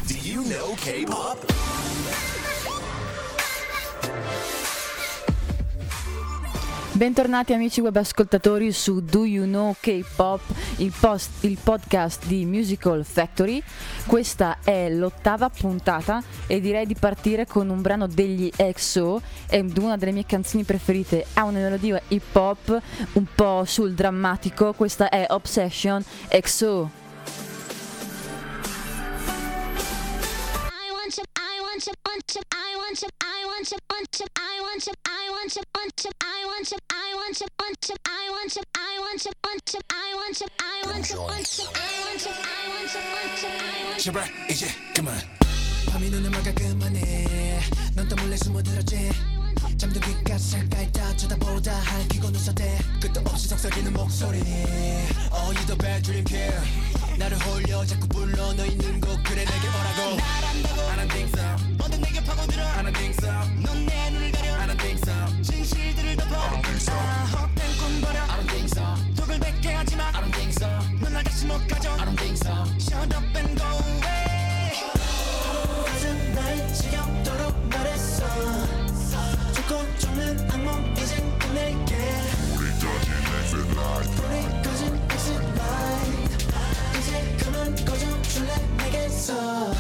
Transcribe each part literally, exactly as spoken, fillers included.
Do you know K-pop? Bentornati amici web ascoltatori su Do You Know K-pop, il, post, il podcast di Musical Factory. Questa è l'ottava puntata e direi di partire con un brano degli X O, è una delle mie canzoni preferite, ha una melodia hip hop un po' sul drammatico. Questa è Obsession X O. 제발 이제 그만 밤이 눈을 막아 그만해 넌 또 몰래 숨어들었지 잠든 귓가에 가까이 쳐다보다 할퀴고 눈썹대 끝도 없이 속삭이는 목소리 Oh you the bad dream kid 나를 홀려 자꾸 불러 너 있는 곳 그래 내게 오라고 날 안다고 I don't think so 모두 내게 파고들어 I don't think so 넌 내 눈을 가려 I don't think so 진실들을 덮어 I don't think so 헛된 꿈 버려 I don't think so 독을 뱉게 하지마 I don't think so 넌 날 다시 못 가져 I don't think so Shut up and go away 가슴 날 지겹도록 말했어 죽고 죽는 악몽 이젠 끝낼게 우리 꺼진 exit light 우리 꺼진 exit light 이제 그만 꺼져줄래 내게서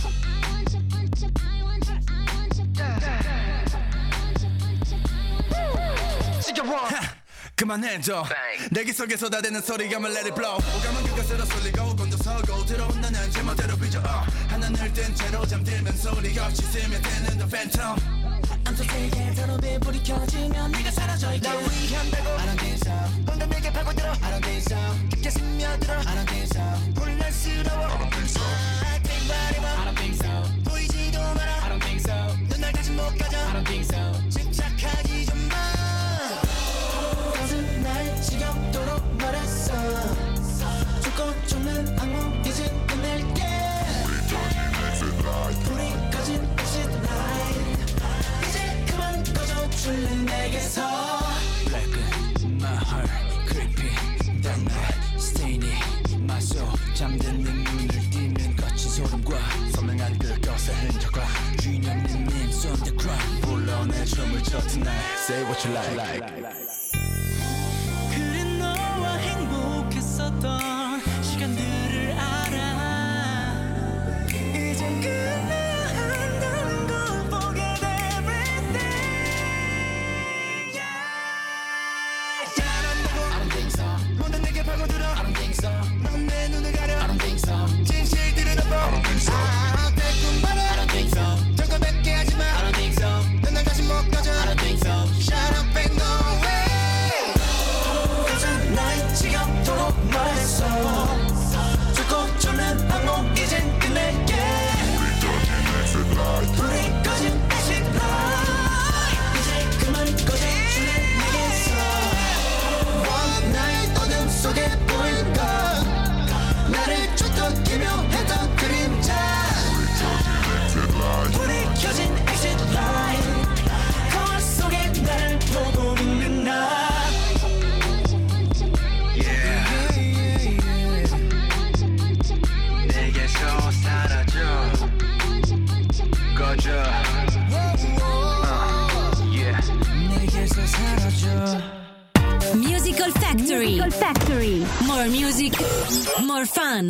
그만해줘 내기 속에 쏟아대는 소리가 말 let it blow 오감은 그것으로 쏠리고 곤두서고 들어온 나는 제멋대로 삐져 uh. 하늘을 뜬 채로 잠들면 소리가 없이 스며드는 the phantom I'm so sick 더럽게 불이 켜지면 네가 사라져 있게 날 위한다고 I don't think so 혼자 내게 파고들어 I don't think so 깊게 스며들어 I don't think so 혼란스러워 I don't think so I think body I don't think so 보이지도 마라 I don't think so 넌 날 다시 못 가져 I don't think so 집착하지 좀마 가슴 날 지겹도록 말했어 죽고 죽는 악몽 이제 끝낼게 불이 꺼진 exit light 이제 그만 꺼져줄래 내게서 Blacken my heart creepy that night staining my soul 잠든 내 눈을 띄는 거친 소름과 선명한 그것의 흔적과 주인 없는 names on the ground 불러내 춤을 춰 tonight say what you like 그래 너와 행복했었던 시간들을 알아 이젠 끝내야 한다는 걸 forget everything yeah. 잘한다고 I don't think so 모든 내게 파고들어 I don't think so 넌 내 눈을 가려 I don't think so 진실들을 덮어 I don't think so 아 대충 말해 I don't think so 저걸 뱉게 하지마 I don't think so 넌 날 다시 못 가져 I don't think so Shut up and go away 날 지겹도록 말했어 죽고 죽는 악몽 이젠 끝낼게 불이 꺼진 exit light 이제 그만 꺼져줄래 내게서 One night 어둠 속에 보인 것 나를 쫓던 기묘했던 그림자 불이 켜진 exit light 거울 속에 나를 보고 있는 나 Musical Factory. Musical Factory. More music, more fun.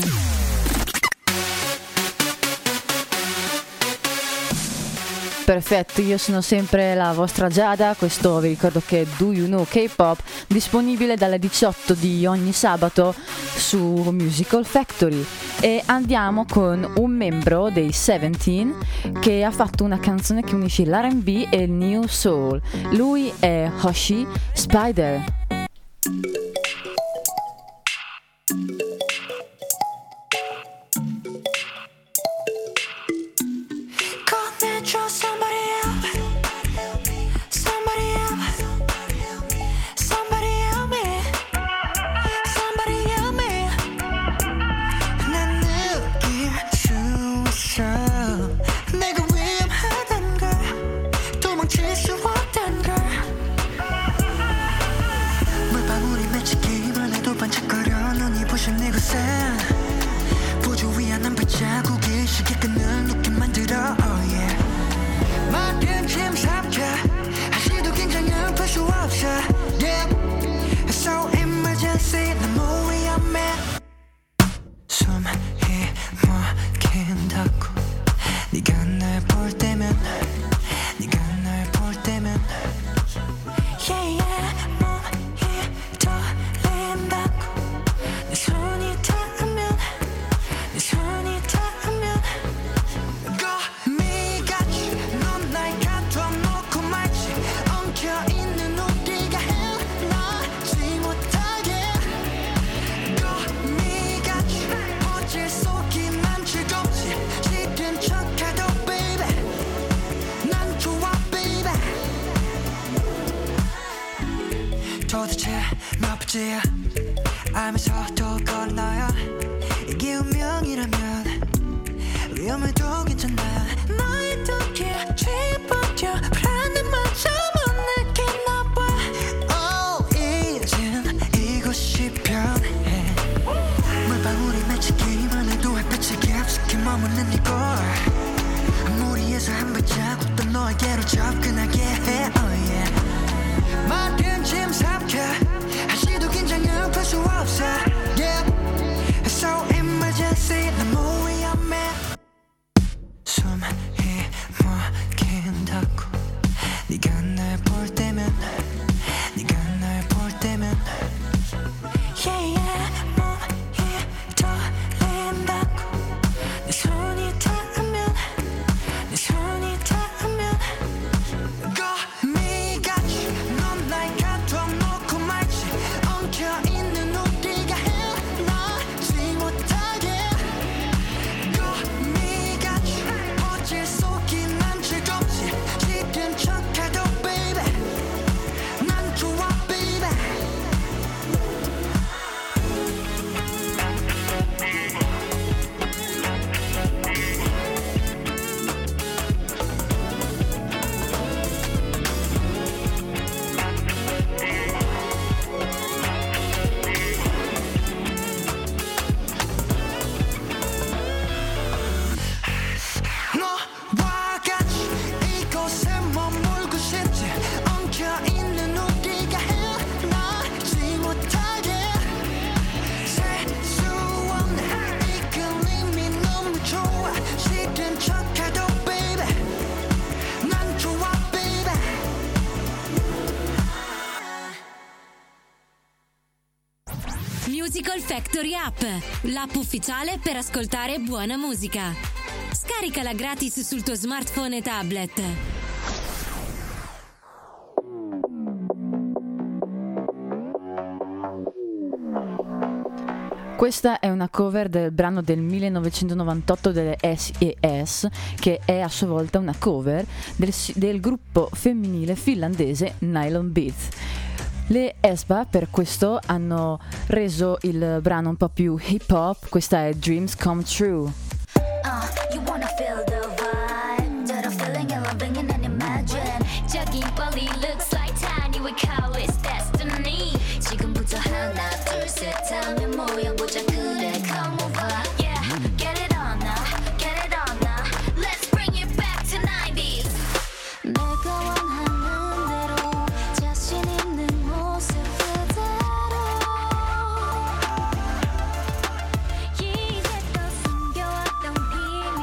Perfetto, io sono sempre la vostra Giada, questo vi ricordo che Do You Know K-pop, disponibile dalle diciotto di ogni sabato su Musical Factory. E andiamo con un membro dei Seventeen che ha fatto una canzone che unisce l'R and B e il New Soul. Lui è Hoshi Spider. 도망칠 수 없단 걸 시계 끈을 놓게 만들어 oh yeah 모든 짐 삼켜 하지도 긴장은 풀 수 없어 yeah So emergency 너무 위험해 숨이 막힌다고 네가 날 볼 때면 네가 날 볼 때면 yeah yeah 몸이 떨린다고 내 손이 닿으면 내 손이 닿으면 거미같이 넌 날 가둬놓고 말지 엉켜있는 우리가 헤어나지 못하게 거미같이 어제 속이만 즐겁지 싫은 척해도 baby 난 좋아 baby 도대체 몇 번째야 알면서도 걸어놔요 이게 운명이라면 위험해도 괜찮아 너의 덕에 취해버려 불안한 마저 못 느끼나 봐 oh 이젠 이곳이 편해 물방울이 맺히기만 해도 햇빛이 깊숙이 머무는 이곳 무리해서 한 발자국도 너에게로 접근하게 해 oh yeah 모든 짐 삼켜 하지도 긴장은 풀 수 없어 yeah So emergency 너무 위험해 숨이 막힌다고 네가 날 볼 때면 네가 날 볼 때면 yeah yeah 몸이 떨린다고 내 손이 닿으면 내 손이 닿으면 거미같이 넌 날 가둬놓고 말지 엉켜있는 우리가 헤어나지 못하게 거미같이 어제 속이만 즐겁지 싫은 척해도 baby 난 좋아 baby 너와 같이 이곳에 머물고 싶지 엉켜있는 우리가 헤어나지 못하게 셀 수 없는 이끌림이 너무 좋아 싫은 척해도 baby 난 좋아 baby Musical Factory App, l'app ufficiale per ascoltare buona musica. Scaricala gratis sul tuo smartphone e tablet. Questa è una cover del brano del millenovecentonovantotto delle S E S, che è a sua volta una cover del, del gruppo femminile finlandese Nylon Beats. Le Espa per questo hanno reso il brano un po' più hip hop. Questa è Dreams Come True. Uh, you wanna feel the vibe that I'm feeling and loving and then imagine 저긴 빨리 looks like tiny we call it destiny 지금부터 하나 둘 셋 하면 모여보자 그래 come over yeah get it on now get it on now let's bring it back to nineties 내가 원하는 대로 자신 있는 모습 그대로 이제껏 숨겨왔던 비밀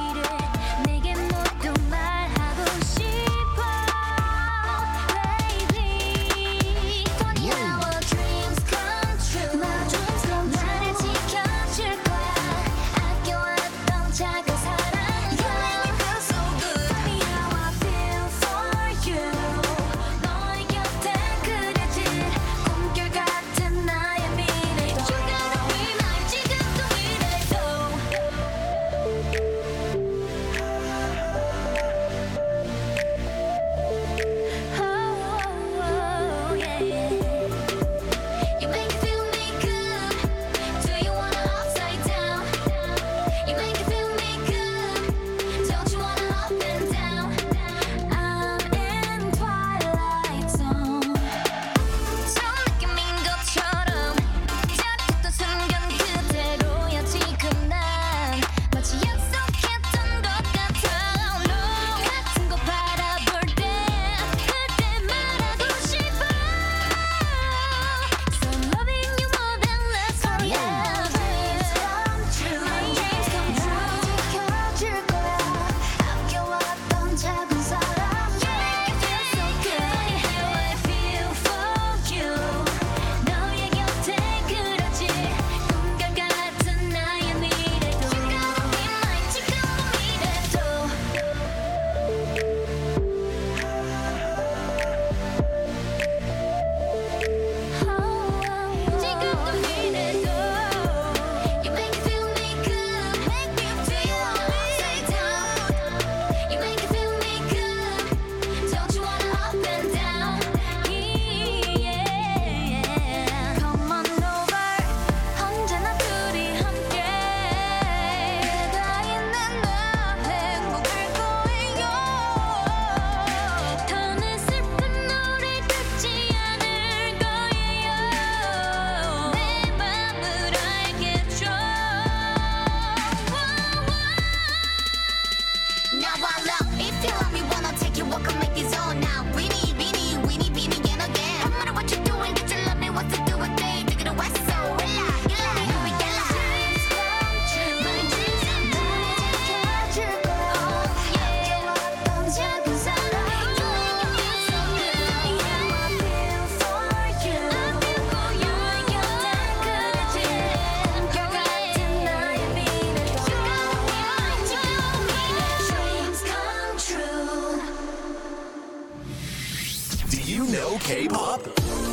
K-pop.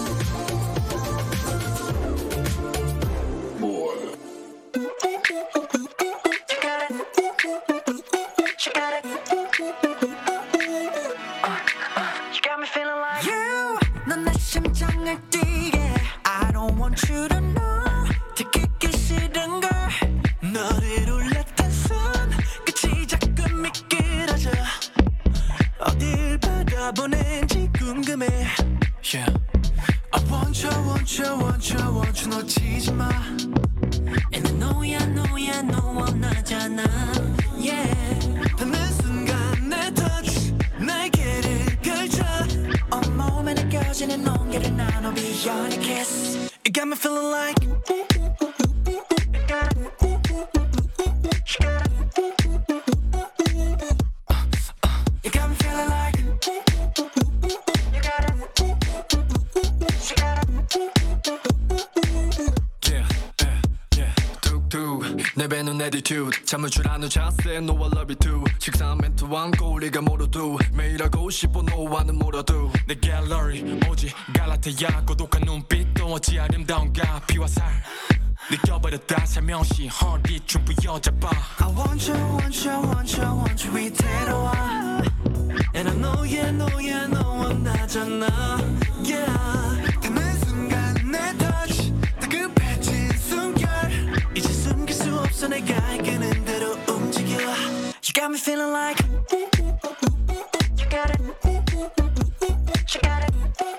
잠을 줄하는 자세 No I love you too 식상한 멘트 왕고 우리가 모르도 매일 하고 싶어 너와는 몰아도 내 갤러리 오직 갈라테야 고독한 눈빛도 어찌 아름다운가 피와 살 느껴버렸다 살며시 허리춤 부여잡아 I want you, want you, want you, want you 이대로 와 And I know yeah, know yeah, know 원하잖아 Yeah 닿는 순간 내 touch 다급해진 숨결 이제 숨길 수 없어 내가 이끄는 대로 움직여 You got me feeling like You got it You got it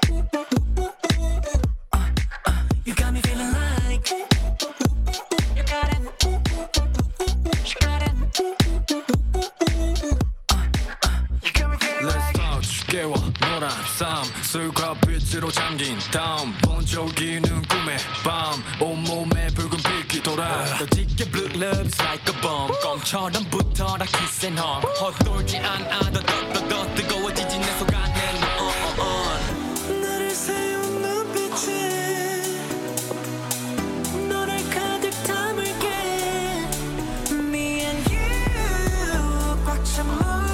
uh, uh, You got me feeling like You got it You got it uh, uh, You got me feeling Let's like touch 깨워 노란 삶 술과 빛으로 잠긴 다음 번쩍이는 꿈의 밤 온몸에 붉은 빛이 돌아 더 짙게 blue lips like a bomb 껌처럼 붙어라 kiss and hug 헛돌지 않아 더더더 뜨거워지지 내 속 안에 넌 나를 세운 눈빛에 너를 가득 담을게 Me and you 꽉 찬 moon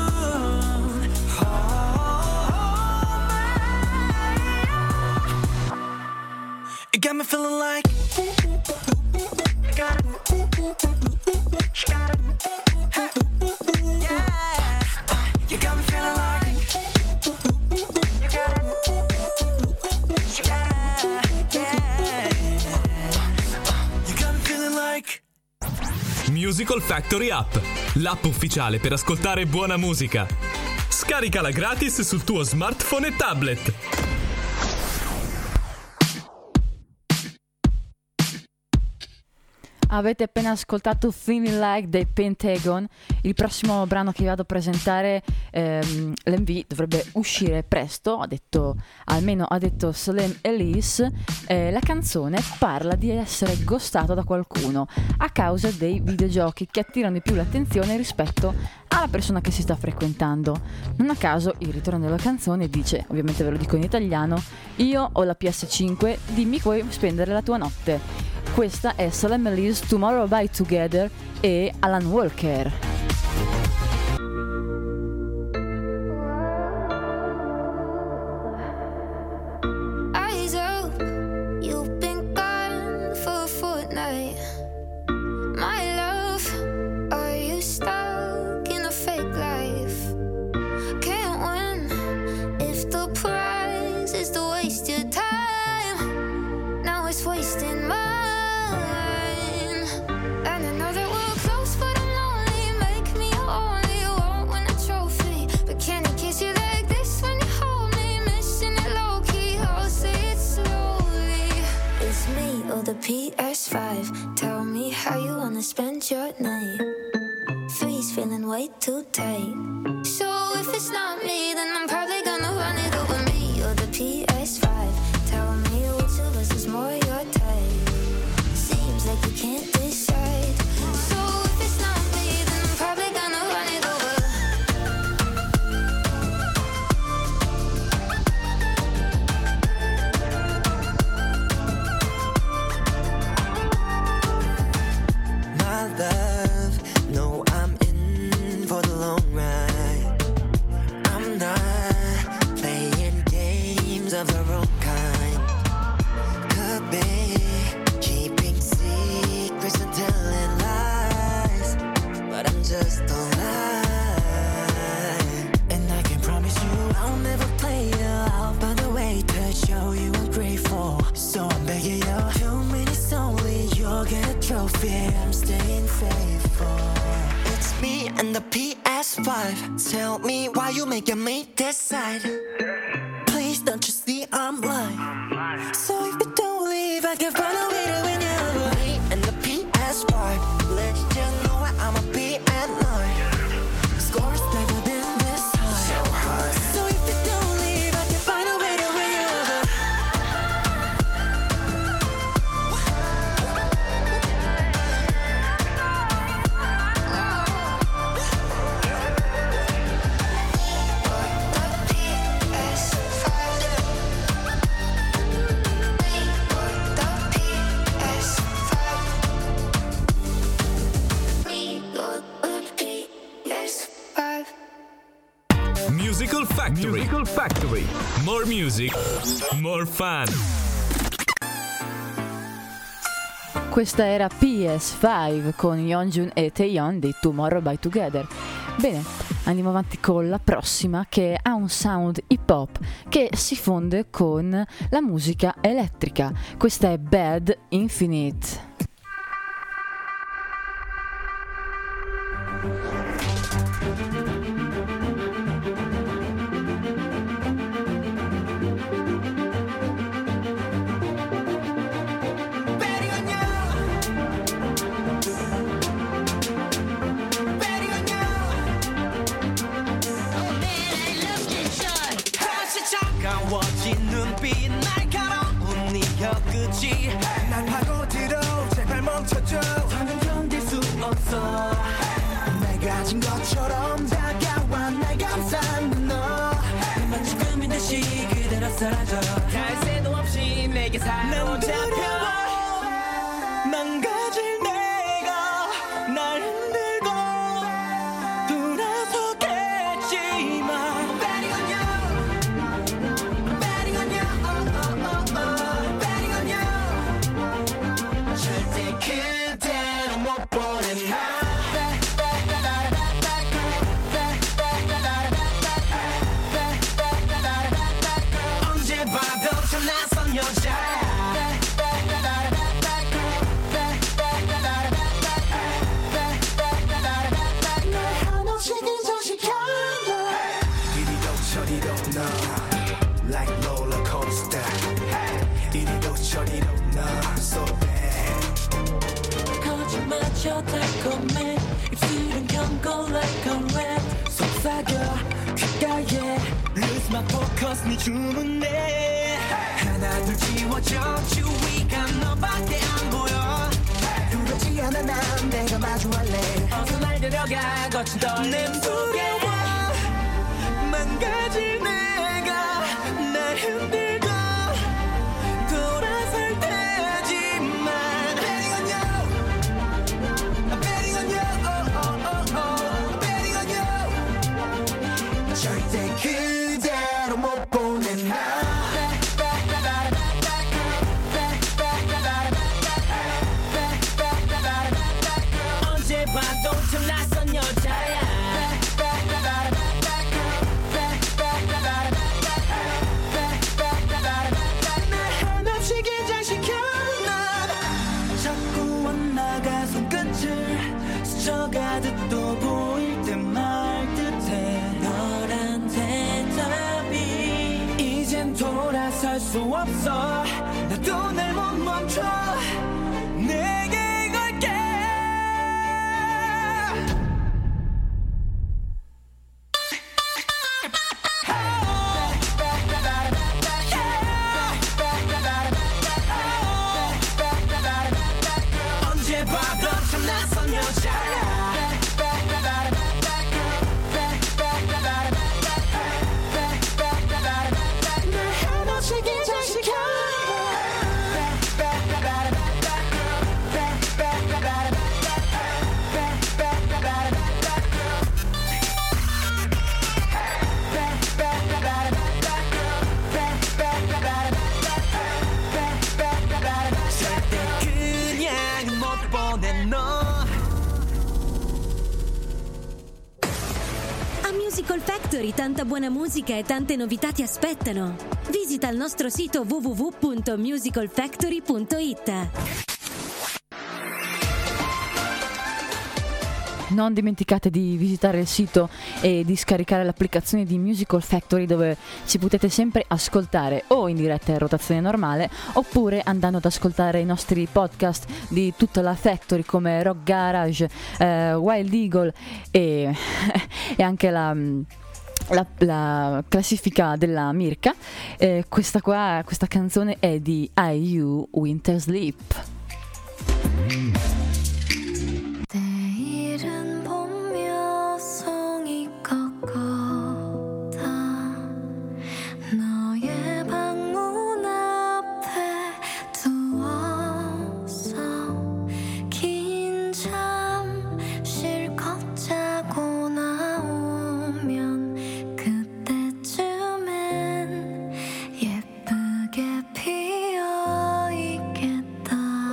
You got me feeling like You got it You got it Hey. Yeah You got me feeling like You got it You got it Yeah You got me feeling like Musical Factory App, l'app ufficiale per ascoltare buona musica. Scaricala gratis sul tuo smartphone e tablet. Avete appena ascoltato Feeling Like dei Pentagon. Il prossimo brano che vi vado a presentare, ehm, l'M V dovrebbe uscire presto, ha detto, almeno ha detto Salem Elise. Eh, la canzone parla di essere ghostato da qualcuno a causa dei videogiochi che attirano di più l'attenzione rispetto alla persona che si sta frequentando. Non a caso il ritorno della canzone dice, ovviamente ve lo dico in italiano: io ho la P S cinque, dimmi come spendere la tua notte. Questa è Salem Elise, Tomorrow by Together e Alan Walker. Eyes open, you've been gone for a fortnight. My love, are you stuck in a fake life? Can't win if the prize is to waste your time. Now it's wasting mine. And I know that we're close, but I'm lonely. Make me only won't win a trophy. But can I kiss you like this when you hold me? Missing it low key, I'll say it slowly. It's me or the P S five. Tell me how you wanna spend your night. Three's feeling way too tight. So if it's not me, then I'm probably gonna run it over me or the P S five. Tell me which of us is more your type. Seems like you can't decide. So if it's not me, then I'm probably gonna run it over. My love, no, I'm in for the long ride. I'm not just don't lie. And I can promise you I'll never play you. I'll find a way to show you I'm grateful. So I'm begging you, two minutes only, you'll get a trophy. I'm staying faithful. It's me and the P S five. Tell me why you making me decide. Please don't you see I'm lying. So if you don't leave, I can find a way to win you. Me and the P S five. Let you know where I'ma be at night. Scores never been this high. So high. So if you don't leave, I can find a way to win you. Musical Factory. Musical Factory. More music, more fun. Questa era P S cinque con Yeonjun e Taeyeon di Tomorrow by Together. Bene, andiamo avanti con la prossima, che ha un sound hip hop che si fonde con la musica elettrica. Questa è Bad Infinite. 차가워진 눈빛 날카로운 네 혀끝이 날 파고들어 제발 멈춰줘 더는 견딜 수 없어 내가 가진 것처럼 다가와 날 감싼 너 난 지금인 듯이 그대로 사라져 갈 새도 없이 내게 사로잡혀 망가질 내가 날 흔들고 돌아서겠지만 달콤해 입술은 경고 like a rat 속삭여 귓가에 Lose my focus 네 주문에 하나 둘 지워져 주위가 너밖에 안 보여 두렵지 않아 난 내가 마주할래 어서 날 데려가 거친 떨림 속에 망가질 내가 날 흔들고 돌아설 테지만 절대 그대로 못 보내 나 언제 봐도 참 낯선 여자야 날 한없이 긴장시켜 난 자꾸 원나가 손끝을 스쳐가듯 또 보일 듯 말 듯해 너란 대답이 이젠 돌아설 수 없어 나도 날 못 멈춰 내게 걸게 언제 봐도 참 낯선 여자야 날 한없이 긴장시켜 Musical Factory, tanta buona musica e tante novità ti aspettano. Visita il nostro sito w w w punto musical factory punto i t. Non dimenticate di visitare il sito e di scaricare l'applicazione di Musical Factory, dove ci potete sempre ascoltare o in diretta in rotazione normale oppure andando ad ascoltare i nostri podcast di tutta la Factory come Rock Garage, eh, Wild Eagle e, e anche la... La, la classifica della Mirka. Eh, questa qua, questa canzone è di I U Winter Sleep. 내일은 봄 여성이 꺾었다 너의 방문 앞에 두었어 긴 잠 실컷 자고 나오면 그때쯤엔 예쁘게 피어있겠다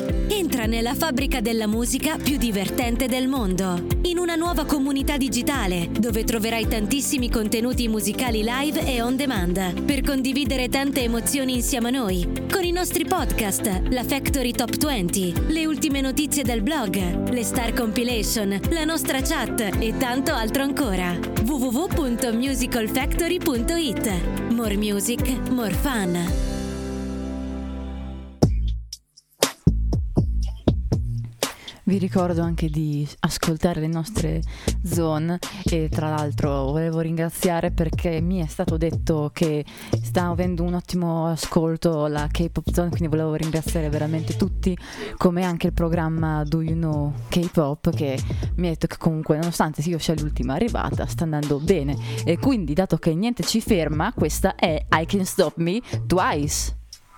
Entra nella fabbrica della musica più divertente del mondo, in una nuova comunità digitale dove troverai tantissimi contenuti musicali live e on demand per condividere tante emozioni insieme a noi, con i nostri podcast, la Factory Top venti, le ultime notizie del blog, le Star Compilation, la nostra chat e tanto altro ancora. w w w punto musical factory punto i t. More music, more fun. Vi ricordo anche di ascoltare le nostre zone e tra l'altro volevo ringraziare perché mi è stato detto che sta avendo un ottimo ascolto la K-Pop Zone, quindi volevo ringraziare veramente tutti, come anche il programma Do You Know K-Pop, che mi ha detto che comunque nonostante io sia l'ultima arrivata sta andando bene, e quindi dato che niente ci ferma, questa è I Can't Stop Me Twice.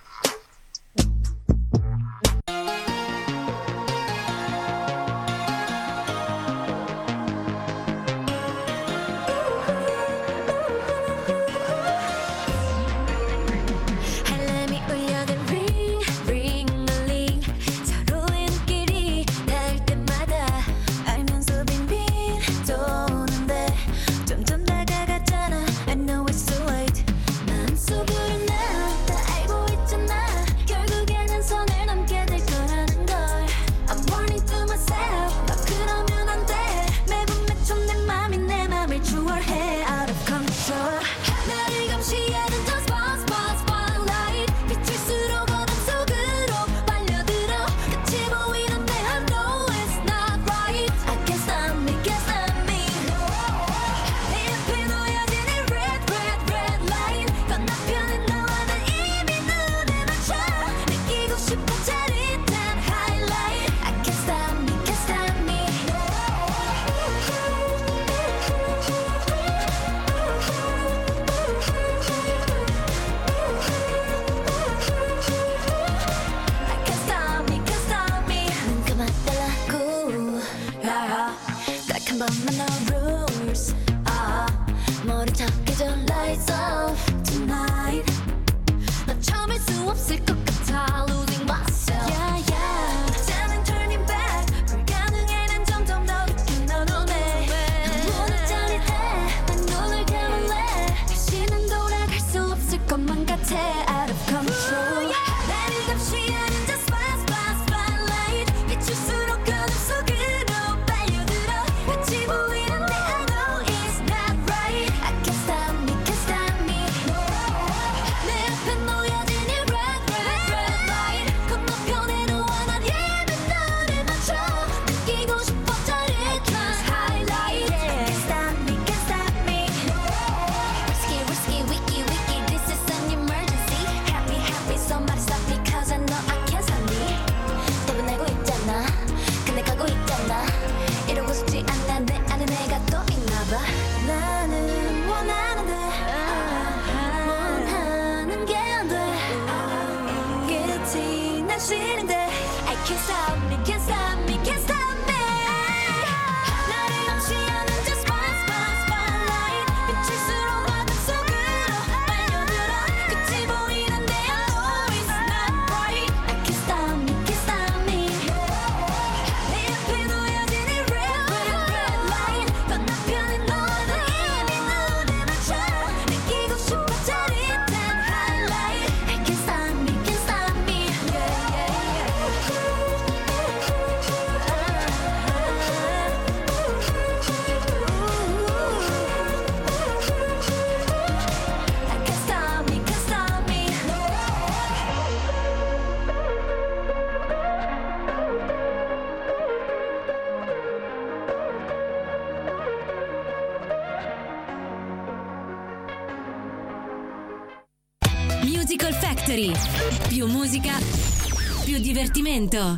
Musical Factory. Più musica, più divertimento.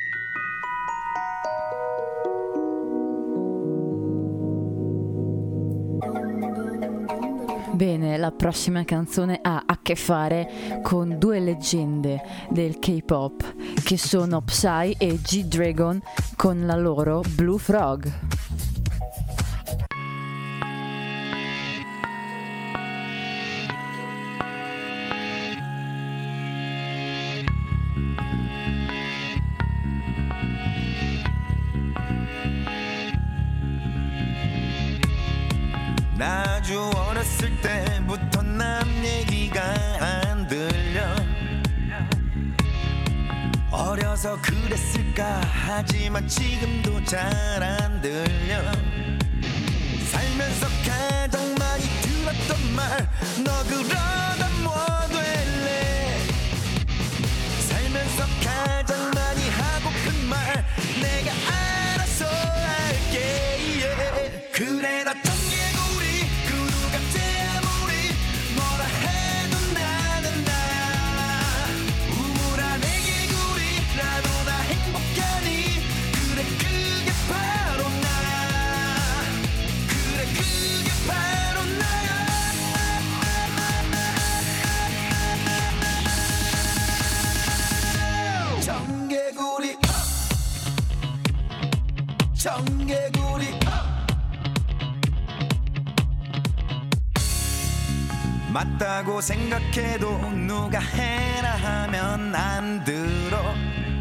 Bene, la prossima canzone ha a che fare con due leggende del K-pop che sono Psy e G-Dragon con la loro Blue Frog. 아주 어렸을 때부터 남 얘기가 안 들려. 어려서 그랬을까 하지만 지금도 잘 안 들려. 살면서 가장 많이 들었던 말, 너 그러다 뭐 될래. 살면서 가장 많이 하고픈 말, 내가 알아서 할게. yeah. 그래 나 청개구리 그 누가 아무리 뭐라 해도 나는 나야. 우물안 애개구리라도 나 행복하니. 그래 그게 바로 나야. 그래 그게 바로 나야. 청개구리 청개구리 맞다고 생각해도 누가 해라 하면 안 들어.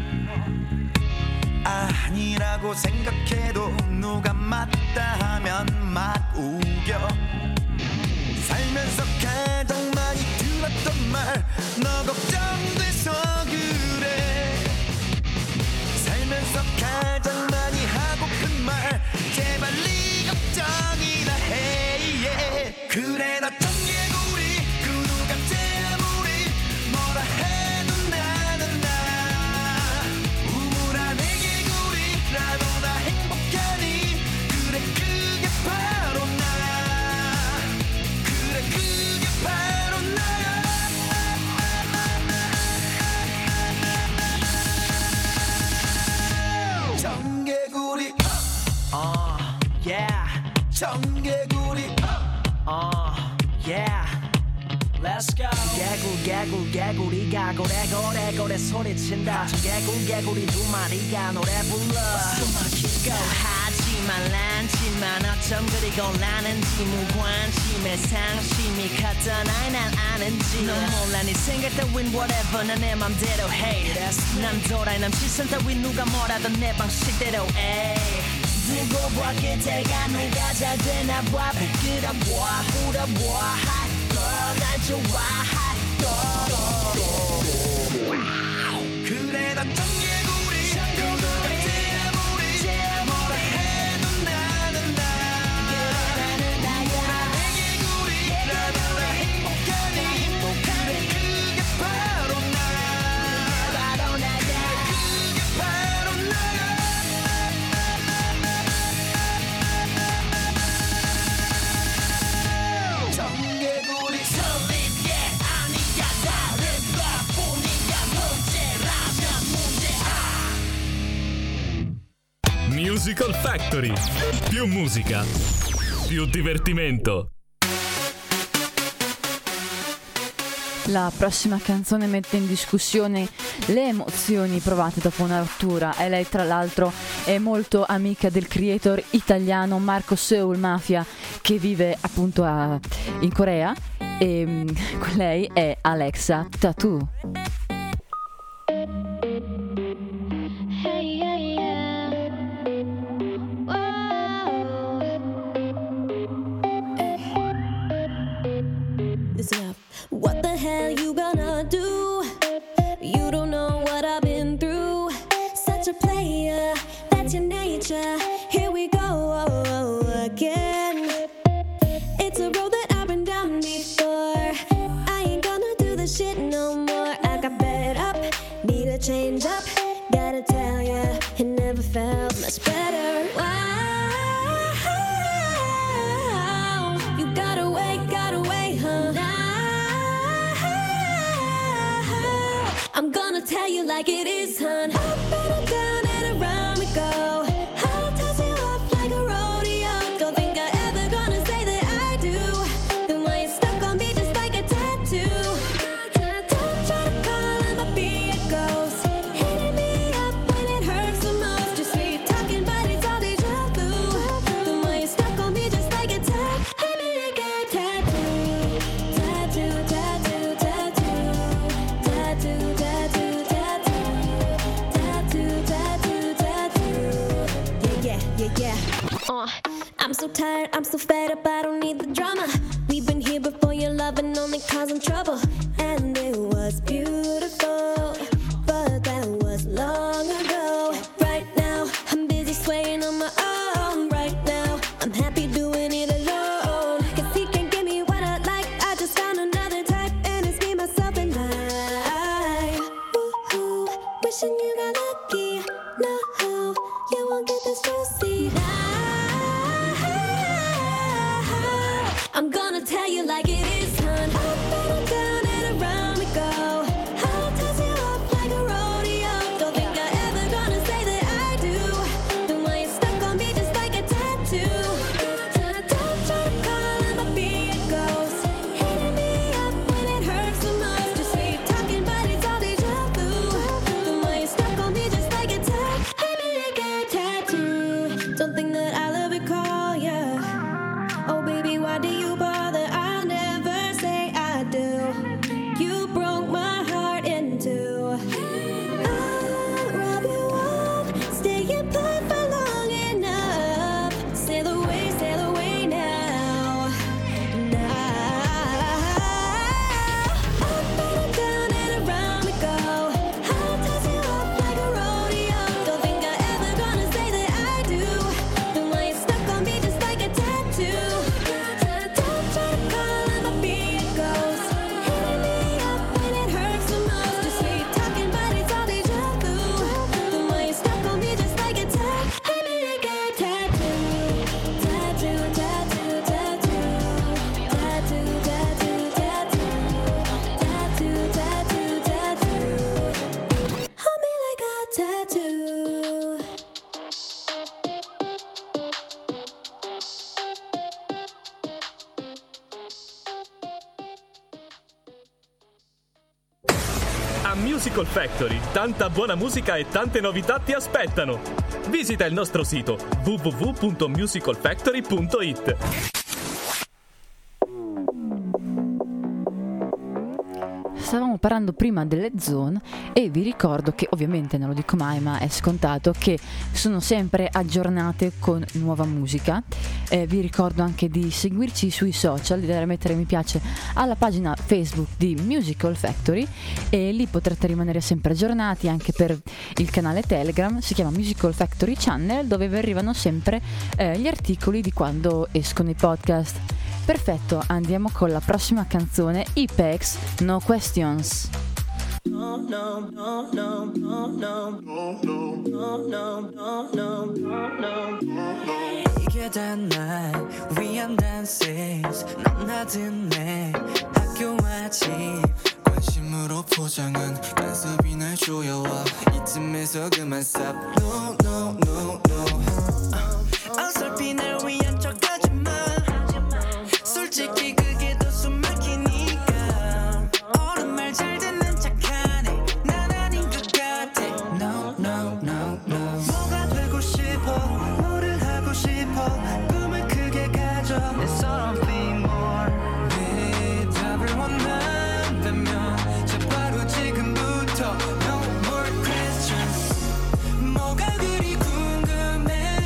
아니라고 생각해도 누가 맞다 하면 막 우겨. 살면서 가장 많이 들었던 말, 너 걱정돼서 그래. 살면서 가장 많이 하고픈 말, 제발 네 걱정이나 해. yeah. 그래 나 청개구리 그 누가 아무리 뭐라 해도 나는 나야. 우물안 애개구리라도 나 행복하니. 그래 그게 바로 나야. 그래 그게 바로 나야. 청개구리 어 yeah. 청개구리 어 yeah. Let's go. 개굴 개굴 개구리가 고래고래 고래 소리친다. 청개굴 개구리 두 마리가 노래 불러. 숨막히고 하지 말란지만 어쩜 그리 곤란한지 무관심에 상심이 컸던 아이 난 아는지. 넌 몰라 네 생각 따윈 whatever 난 내 맘대로 해. 난 도라이 남 시선 따윈 누가 뭐라던 내 방식대로 해. 두고 봐 그때가 누가 잘 되나 봐. 끌어봐 불어봐 hot girl 날 좋아 hot girl. 그래 난 청개구리 그 누가 아무리 뭐라 해도 나는 나야. 우물안 애개구리라도 나 행복하니. 그래 그게 바로 나야. 그게 바로 나야. 청개구리 소리게 아니야 다른 것뿐이야. 문제라면 문제야. Musical Factory. Più musica, più divertimento. La prossima canzone mette in discussione le emozioni provate dopo una rottura e lei tra l'altro è molto amica del creator italiano Marco Soul Mafia che vive appunto a, in Corea e mm, lei è Alexa Tattoo. Hey, yeah, yeah. Whoa. Listen up. What the hell you gonna do? You don't know what I've been through. Such a player, that's your nature. Here we go again. It's a road that I've been down before. I ain't gonna do this shit no more. I got fed up, need a change up. Gotta tell ya, it never felt much better. Wow, you gotta wait, gotta wait, huh? I'm gonna tell you like it is, hun. Up and down and around we go. I'll toss you up like a rodeo. Don't think I ever gonna say that I do. Then why you stuck on me just like a tattoo? Don't try to call it my be a ghost. Hitting me up when it hurts the most. Just sweet talking, but it's all deja vu. Then why you stuck on me just like a tattoo? Hit me like a tattoo, tattoo, tattoo, tattoo, tattoo, tattoo, tattoo, tattoo, tattoo, tattoo. I'm so tired, I'm so fed up, I don't need the drama. We've been here before, your loving only causing trouble. And it was beautiful, but that was long ago. Right now, I'm busy swaying on my own. Right now, I'm happy doing it alone. Cause he can give me what I like, I just found another type. And it's me, myself, and I. Woo-hoo, wishing you got lucky. No, you won't get this juicy. I'm gonna tell you like it is, hun. Up and down and around we go. I'll toss you up like a rodeo. Don't think I ever gonna say that I do. Then why you stuck on me just like a tattoo? Don't try to call him a be a ghost. Hitting me up when it hurts the most. Just sweet talking, but it's all deja vu. Then why you stuck on me just like a tattoo? Hit me like a tattoo. Don't think that I'll ever call ya. Oh baby, why do you bother? I'll never say I do. You broke my heart in two. I'll rub you off, stay in put for long enough. Sail away, sail away now. Now. Up and down and around we go. I'll toss you up like a rodeo. Don't think I ever gonna say that I do. Then why you stuck on me just like a tattoo? Don't try to call him a be a ghost. Hitting me up when it hurts the most. Just sweet talking, but it's all deja vu. Then why you stuck on me just like a tattoo? Hit me like a tattoo. Tattoo, tattoo, tattoo. Tattoo, tattoo, tattoo. Tattoo, tattoo, tattoo. Hold me like a tattoo. A Musical Factory, tanta buona musica e tante novità ti aspettano. Visita il nostro sito w w w punto musical factory punto i t. Stavamo parlando prima delle zone e vi ricordo che, ovviamente non lo dico mai ma è scontato, che sono sempre aggiornate con nuova musica. Eh, vi ricordo anche di seguirci sui social, di dare a mettere mi piace alla pagina Facebook di Musical Factory, e lì potrete rimanere sempre aggiornati anche per il canale Telegram, si chiama Musical Factory Channel, dove vi arrivano sempre eh, gli articoli di quando escono i podcast. Perfetto, andiamo con la prossima canzone, Ipex, No Questions. No, no, no, no, no, no, no, no, no, no, no, no, no. 이게 다 날 위한 dances. 너나 듣네 학교와 집 관심으로 포장한 간섭이 날 조여와 이쯤에서 그만 stop. No, no, no, no. 어설피 날 위한 척하지 마. 솔직히 그게 더 숨 막히니까. 어른 말 잘 듣는 척하네. 난 아닌 것 같아. No, no, no, no. 뭐가 되고 싶어? 뭐를 하고 싶어? 꿈을 크게 가져. There's something more. 대답을 원한다면 저 바로 지금부터 No more questions. 뭐가 그리 궁금해?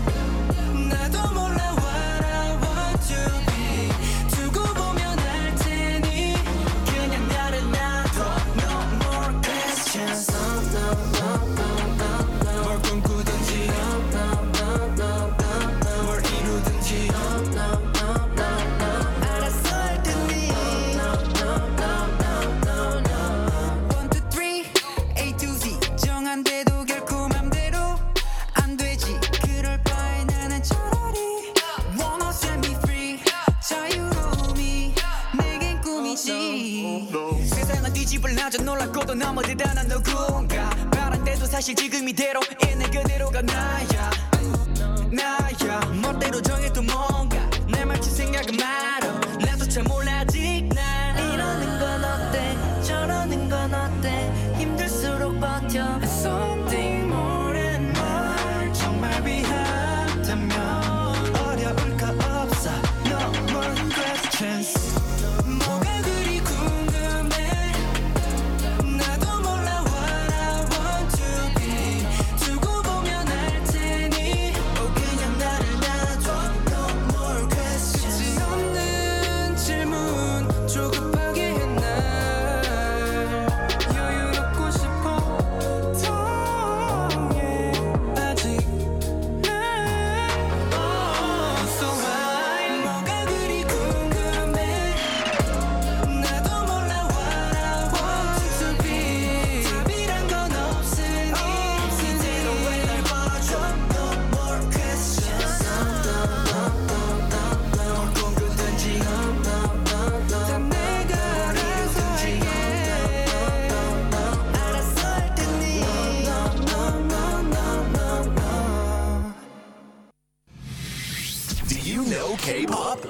나도 몰라 what I want to be. 두고 보면 알 테니 그냥 나를 놔둬. No more questions. No, no, no, no, no, no. 뭘 꿈꾸든지 No, no, no, no, no, no. 뭘 이루든지 No, no, no, no, no. 알았어 할 테니 No, no, no, no, no, no. One, two, three, A to Z 정한데도 결코 맘대로 안 되지. 그럴 바에 나는 차라리 Wanna set me free. 자유로움이 내겐 꿈이지. 세상은 뒤집을 나져 놀랍고도 너무 대단한 누군가. 바란데도 사실 지금 이대로 있는 그대로가 나야. 나야 멋대로 정해도 뭔가 내 맘치 생각은 말어. 나도 잘 몰라 아직 날. 이러는 건 어때 저러는 건 어때 힘들수록 버텨. Something more than more. 정말 위한다면 어려울 거 없어. No more questions. 뭐가 그리 궁금해? 나도 몰라 what I want to be. 두고 보면 알 테니 oh 그냥 나를 놔둬. No K-pop.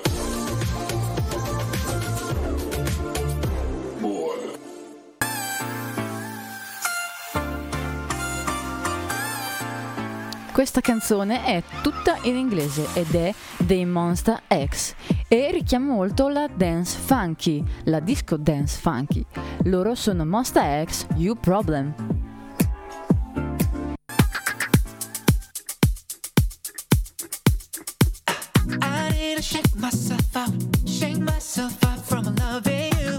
Questa canzone è tutta in inglese ed è dei Monsta X e richiama molto la dance funky, la disco dance funky. Loro sono Monsta X, You Problem. I need to shake myself out, shake myself out from loving you,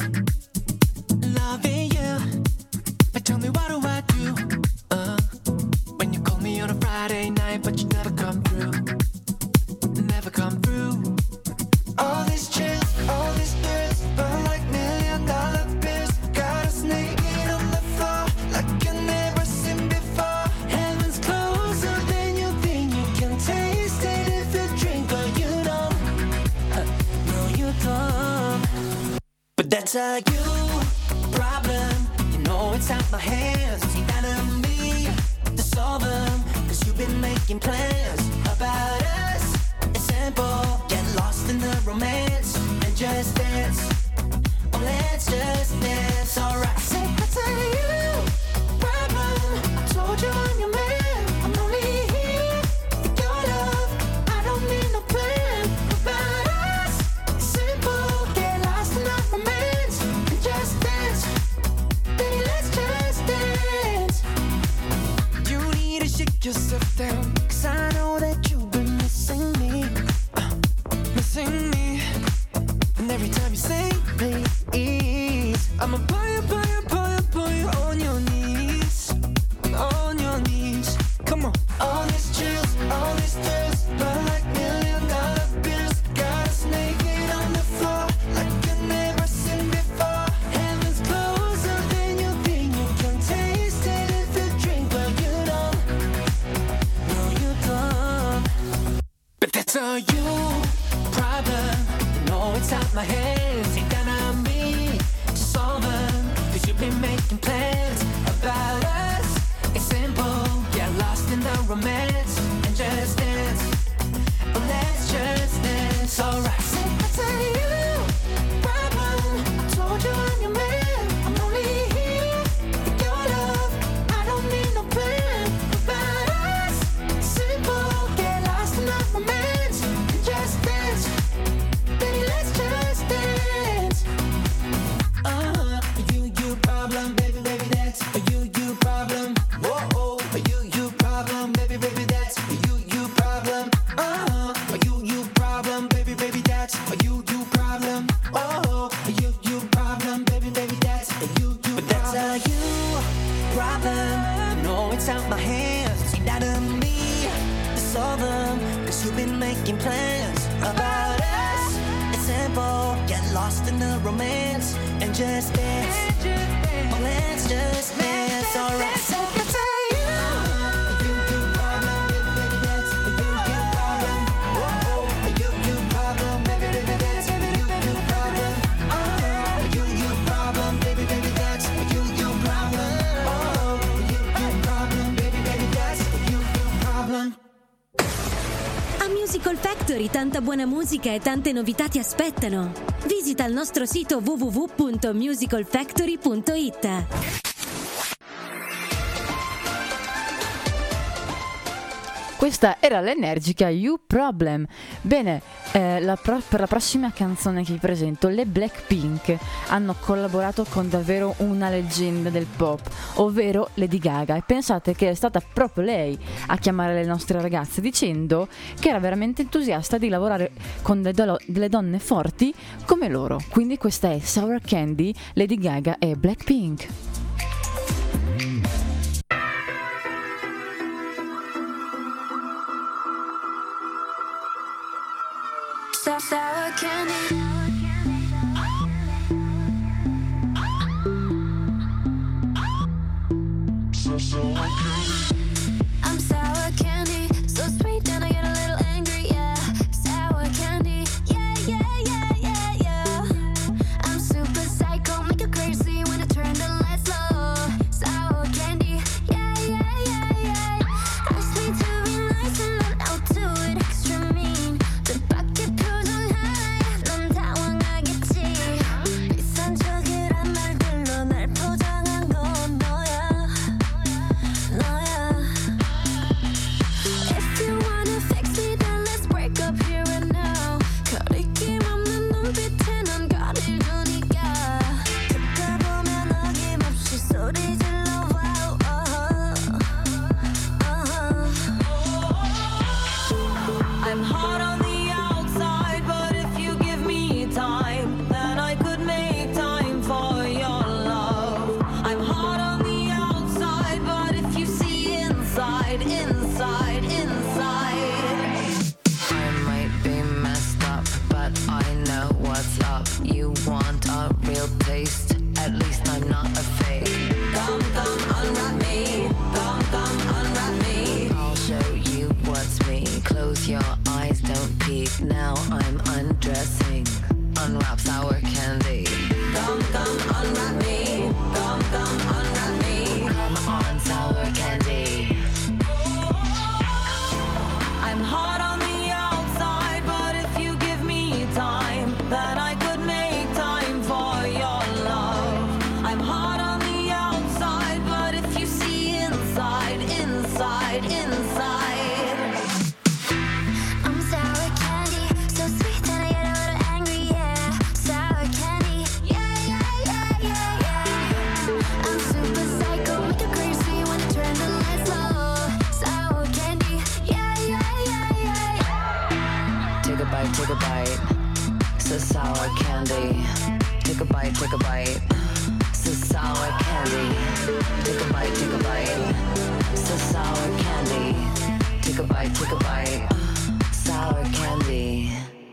loving you. But tell me what do I do? Uh, when you call me on a Friday night, but you never come through, never come through. All these chills, all these thrills, burn like million dollar bills. Got us naked on the floor, like I've never seen before. Heaven's closer than you think. You can taste it if you drink, but you don't. Uh, no, you don't. But that's a you problem. You know it's out my hands. It's ain't down to me to solve them. Cause you've been making plans about us. It's simple. Get lost in the romance and just dance. Oh, let's just dance. Alright. Say that's a you problem. I told you I'm your man. I'm only here for your love. I don't need no plan about us. It's simple. Get lost in the romance and just dance. Baby, let's just dance. You need to shake yourself down, cause I know that you've been missing me, uh, missing me. And every time you say please, I'ma pull you, pull you, pull you, pull you on your knees, on your knees. Come on. All these chills, all these thrills, burn like million dollar bills. Got us naked on the floor, like I've never seen before. Heaven's closer than you think. You can taste it if you drink, but you don't. No, you don't. But that's a you problem. You know it's out my hands. Ain't down on me to solve them. Cause you've been making plans about us. It's simple. Get lost in the romance and just dance. Oh, let's just dance. Alright. Say that's a you problem. I told you I'm your man. I'm only here for your love. I don't need no plan about us. It's simple. Get lost in the romance and just dance. Baby, let's just dance. Uh-huh. You, you problem, baby, baby, that's a you, you problem. Whoa, a you, you problem, baby, baby, that's a you, you problem. Uh-huh. A you, you problem, baby, baby, that's a you, you problem. Oh, a you, you problem, baby, baby, that's a you, you problem. But that's a you problem. No, it's out my hands. It's ain't out of me to solve them. Cause you've been making plans about us. It's simple. Get lost in the romance and just dance. Oh, let's just dance. Alright. So that's a you. A you, you problem, baby, baby, that's a you, you problem. Whoa, a you, you problem, baby, baby, that's a you, you problem. Uh-huh. A you, you problem, baby, baby, that's a you, you problem. Oh, a you, you problem, baby, baby, that's a you, you problem. A Musical Factory tanta buona musica e tante novità ti aspettano. Visita il nostro sito w w w punto musical factory punto i t. Questa era l'energica You Problem. Bene, eh, la pro- per la prossima canzone che vi presento, le Blackpink hanno collaborato con davvero una leggenda del pop, ovvero Lady Gaga, e pensate che è stata proprio lei a chiamare le nostre ragazze dicendo che era veramente entusiasta di lavorare con delle, do- delle donne forti come loro. Quindi questa è Sour Candy, Lady Gaga e Blackpink. Sour candy. I'm sour candy, so sweet and I get a little angry, yeah. Sour candy, yeah, yeah, yeah, yeah, yeah. I'm super psycho, make you crazy when I turn the lights low. Sour candy, yeah, yeah, yeah, yeah. Ask me to be nice and then I'll do it extra mean. The pocket pros inside, inside, inside. I might be messed up, but I know what's up. You want a real taste? At least I'm not a fake. Come, come, unwrap me. Come, come, unwrap me. I'll show you what's me. Close your eyes, don't peek. Now I'm undressing. Unwrap sour candy. Come, come, unwrap me. Come, come, unwrap me. Come on, sour candy. I'm hot on the outside, but if you give me time, then I could make time for your love. I'm hot on the outside, but if you see inside, inside, inside. I'm sour candy, so sweet that I get a little angry, yeah. Sour candy, yeah, yeah, yeah, yeah, yeah. I'm super psycho, make you crazy when I turn the lights low. Sour candy, yeah, yeah, yeah, yeah, yeah. Take a bite, take a bite. So sour candy. Take a bite, take a bite. So sour candy. Take a bite, take a bite. So sour candy. Take a bite, take a bite. Sour candy.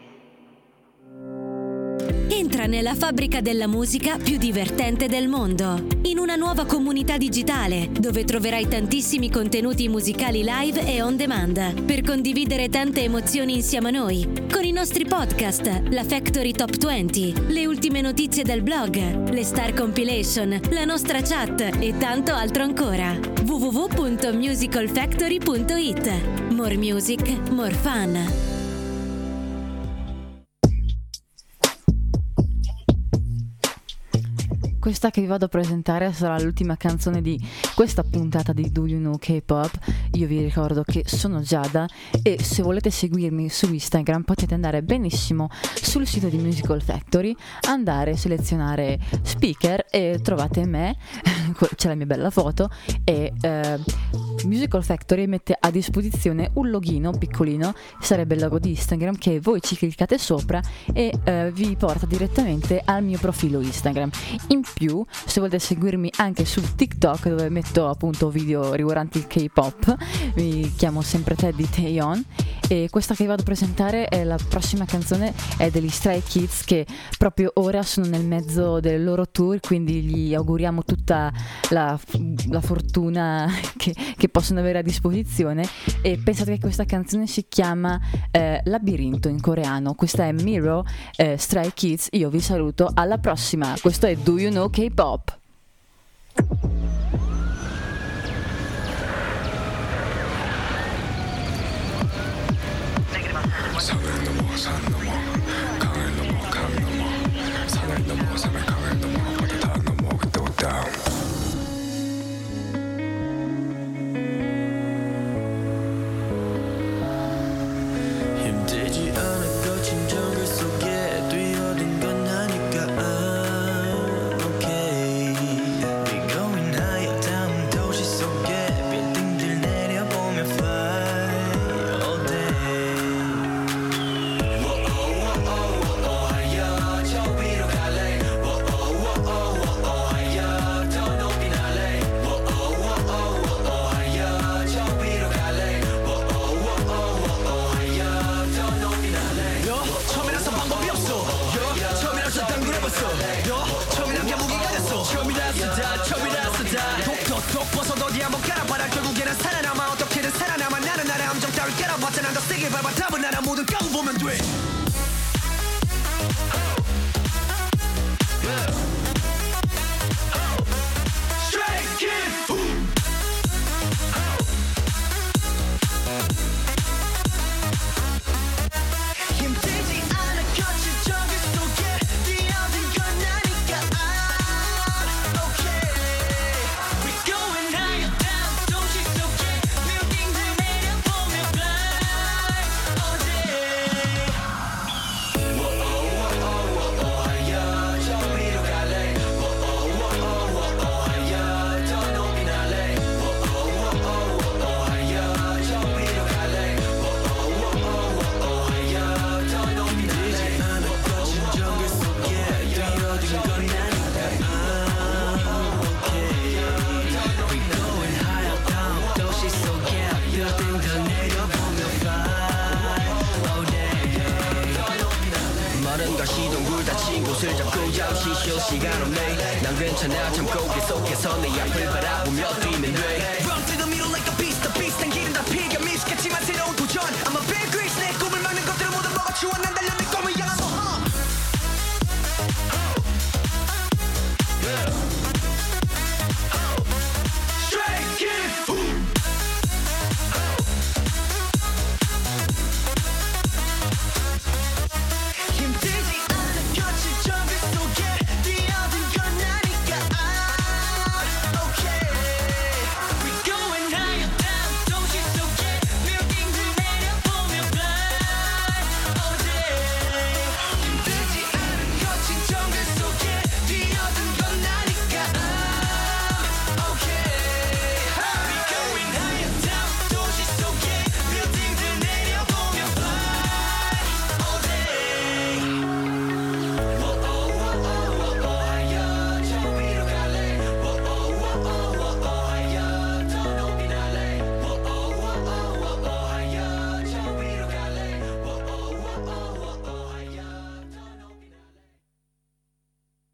Entra nella fabbrica della musica più divertente del mondo, in una nuova comunità digitale dove troverai tantissimi contenuti musicali live e on demand per condividere tante emozioni insieme a noi, con i nostri podcast, la Factory Top venti, le ultime notizie del blog, le Star Compilation, la nostra chat e tanto altro ancora. w w w punto musical factory punto i t. More music, more fun. Questa che vi vado a presentare sarà l'ultima canzone di questa puntata di Do You Know K-Pop. Io vi ricordo che sono Giada e se volete seguirmi su Instagram potete andare benissimo sul sito di Musical Factory, andare, selezionare speaker e trovate me, c'è la mia bella foto e eh, Musical Factory mette a disposizione un login piccolino, sarebbe il logo di Instagram, che voi ci cliccate sopra e eh, vi porta direttamente al mio profilo Instagram. In più, se volete seguirmi anche su TikTok, dove metto appunto video riguardanti il K-pop, mi chiamo sempre Teddy Taeyeon e questa che vi vado a presentare è la prossima canzone, è degli Stray Kids, che proprio ora sono nel mezzo del loro tour, quindi gli auguriamo tutta la, la fortuna che, che possono avere a disposizione. E pensate che questa canzone si chiama eh, Labirinto in coreano. Questa è Miro, eh, Stray Kids. Io vi saluto, alla prossima. Questo è Do You Know K-Pop. 산을 넘어 산 넘어 강을 넘어 강 넘어 산을 넘어 산을 강을 넘어 바다 다 넘어 또 다운 힘들지 않은 거친 정글 속에 뛰어든 건 아니까 okay We going higher down 도시 속에 빌딩들 내려보며 fly all day 독 벗어도 어디 한번 깔아봐라 결국에는 살아남아 어떻게든 살아남아 나는 나의 함정 따위 깔아봤자 난 더 세게 밟아 답은 나라 모든 까고 보면 돼 Stray Kids 힘들지 않아 거친 정글 속에 뛰어든 건 아니까 Okay We going higher down 도시 속에 쉴 시간 없네 난 괜찮아 참고 계속해서 내 앞을 바라보며 뛰면 돼